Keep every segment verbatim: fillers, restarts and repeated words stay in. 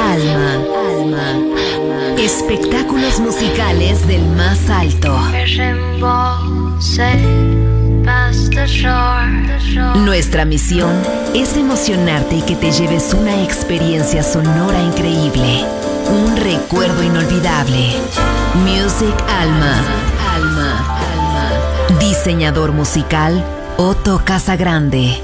Alma. Alma. Espectáculos musicales del más alto. Nuestra misión es emocionarte y que te lleves una experiencia sonora increíble. Un recuerdo inolvidable. Music Alma. Alma. Alma. Diseñador musical Otto Casagrande.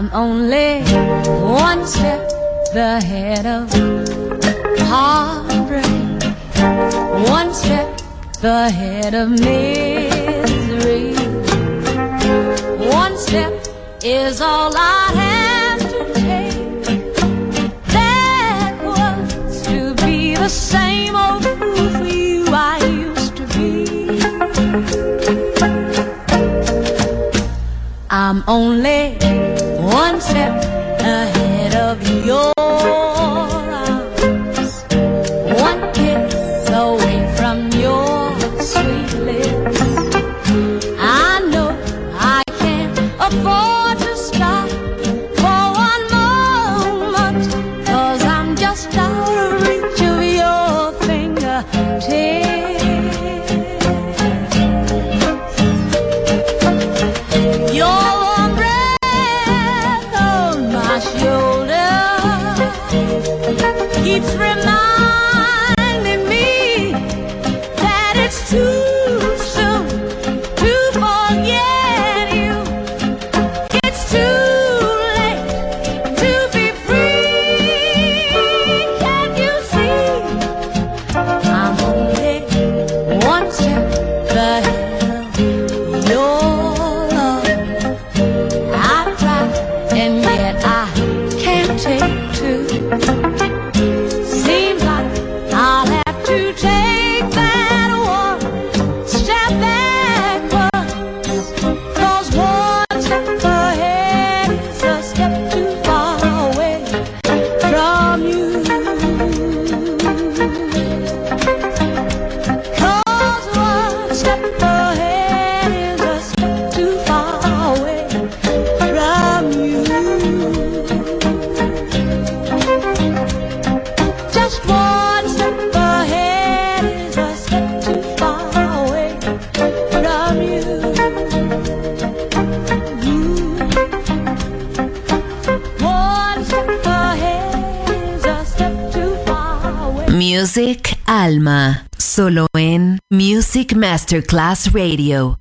I'm only one step ahead of heartbreak, one step ahead of misery. One step is all I have to take backwards to be the same old fool for you I used to be. I'm only one step ahead of your arms, one kiss away from your sweet lips. I know I can't afford to stop for one moment, 'cause I'm just out of reach of your fingertips. Your warm breath on my shoulder keeps reminding me that it's too soon to forget you. It's too late to be free. Can't you see? I'm only one step ahead of your love. I've tried and yet I can't take two. Seems like I'll have to take that one step backwards, 'cause one step ahead is a step too far away from you. 'Cause one step ahead is a step too far away from you. Just one step ahead is a step too far away from you. One step ahead is a step too far away. Music Alma, solo en Music Masterclass Radio.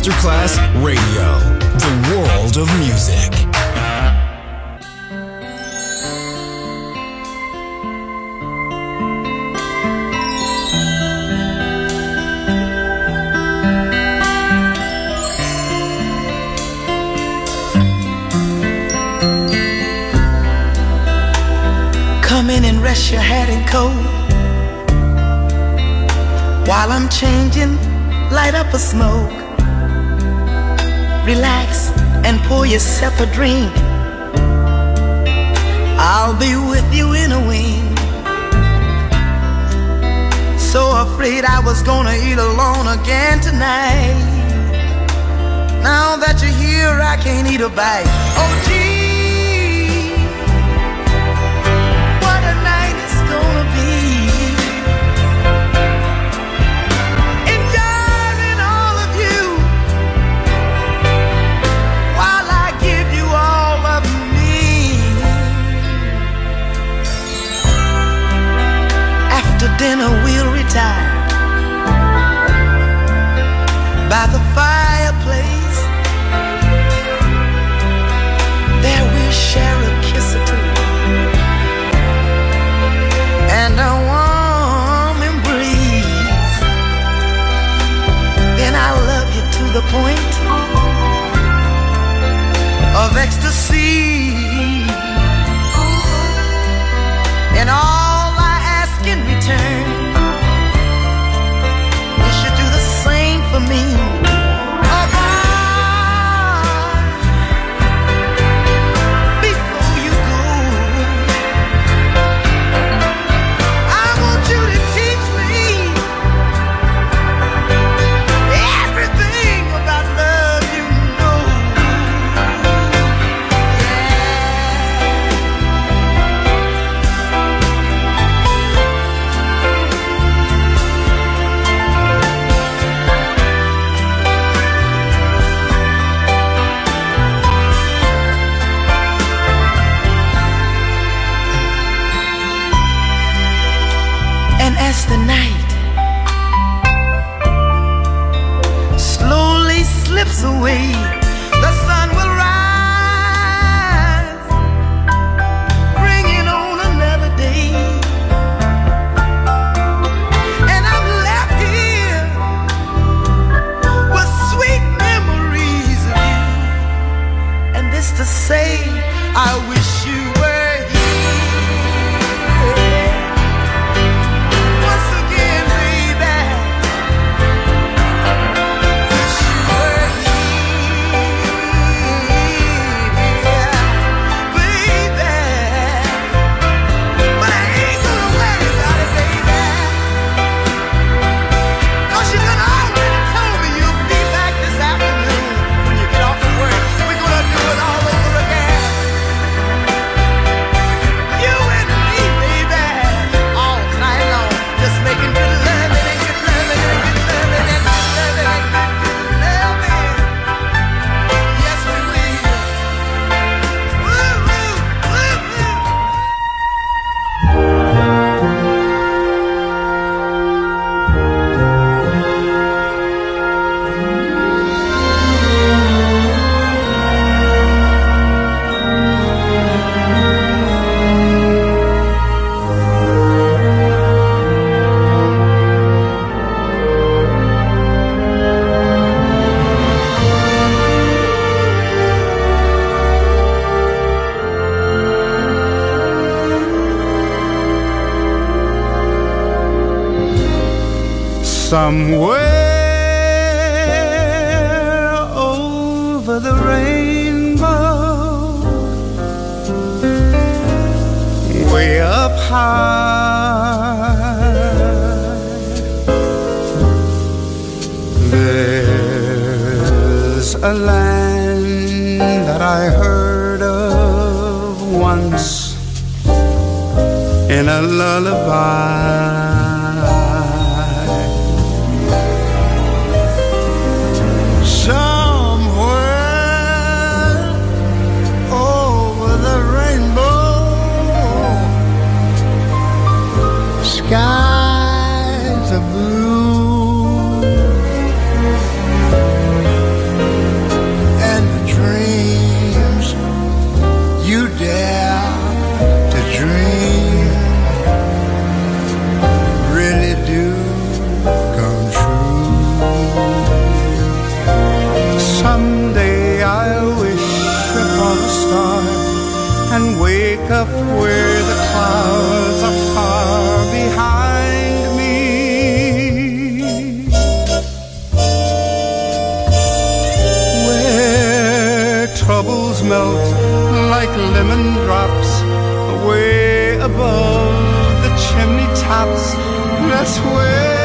Masterclass Radio, the world of music. Come in and rest your head and coat. While I'm changing, light up a smoke. Relax and pour yourself a drink. I'll be with you in a wink. So afraid I was gonna eat alone again tonight. Now that you're here, I can't eat a bite. Oh gee, dinner we'll retire by the fireplace. There we'll share a kiss or two and a warm embrace. Then I'll love you to the point of ecstasy. And all in return, you should do the same for me. Oh, boy, before you go, I want you to teach me everything about love you know. As the night slowly slips away, the sun will rise, bringing on another day. And I'm left here with sweet memories of you. And this to say, I wish you were somewhere over the rainbow, way up high, there's a land that I heard of once in a lullaby. Skies are blue, melt like lemon drops way above the chimney tops. That's where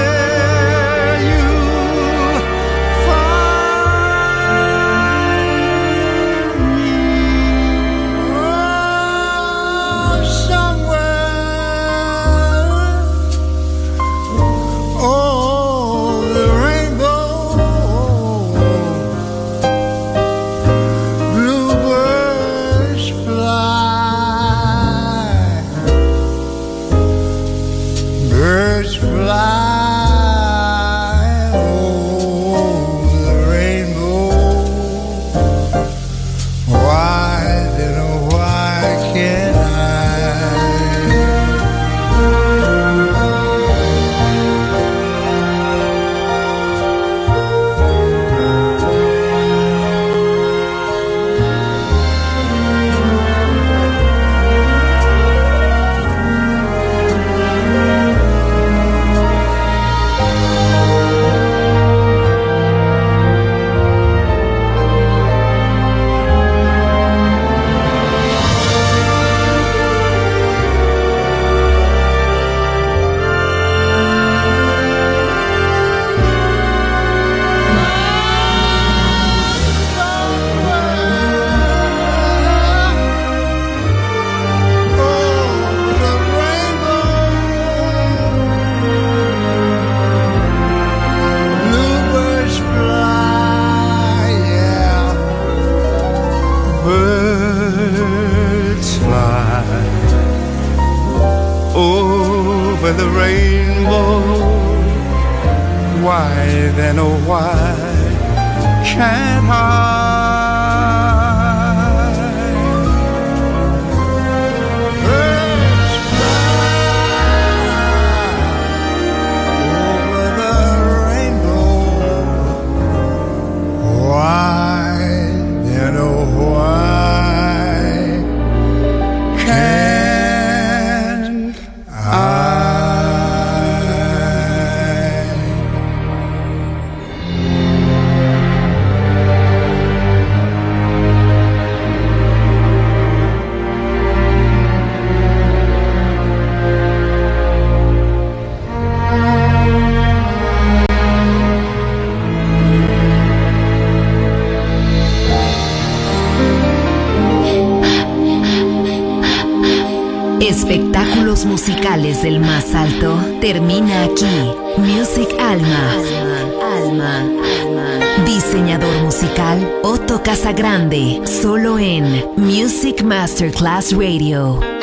Espectáculos musicales del más alto termina aquí. Music Alma. Alma, Alma. Diseñador musical Otto Casagrande. Solo en Music Masterclass Radio.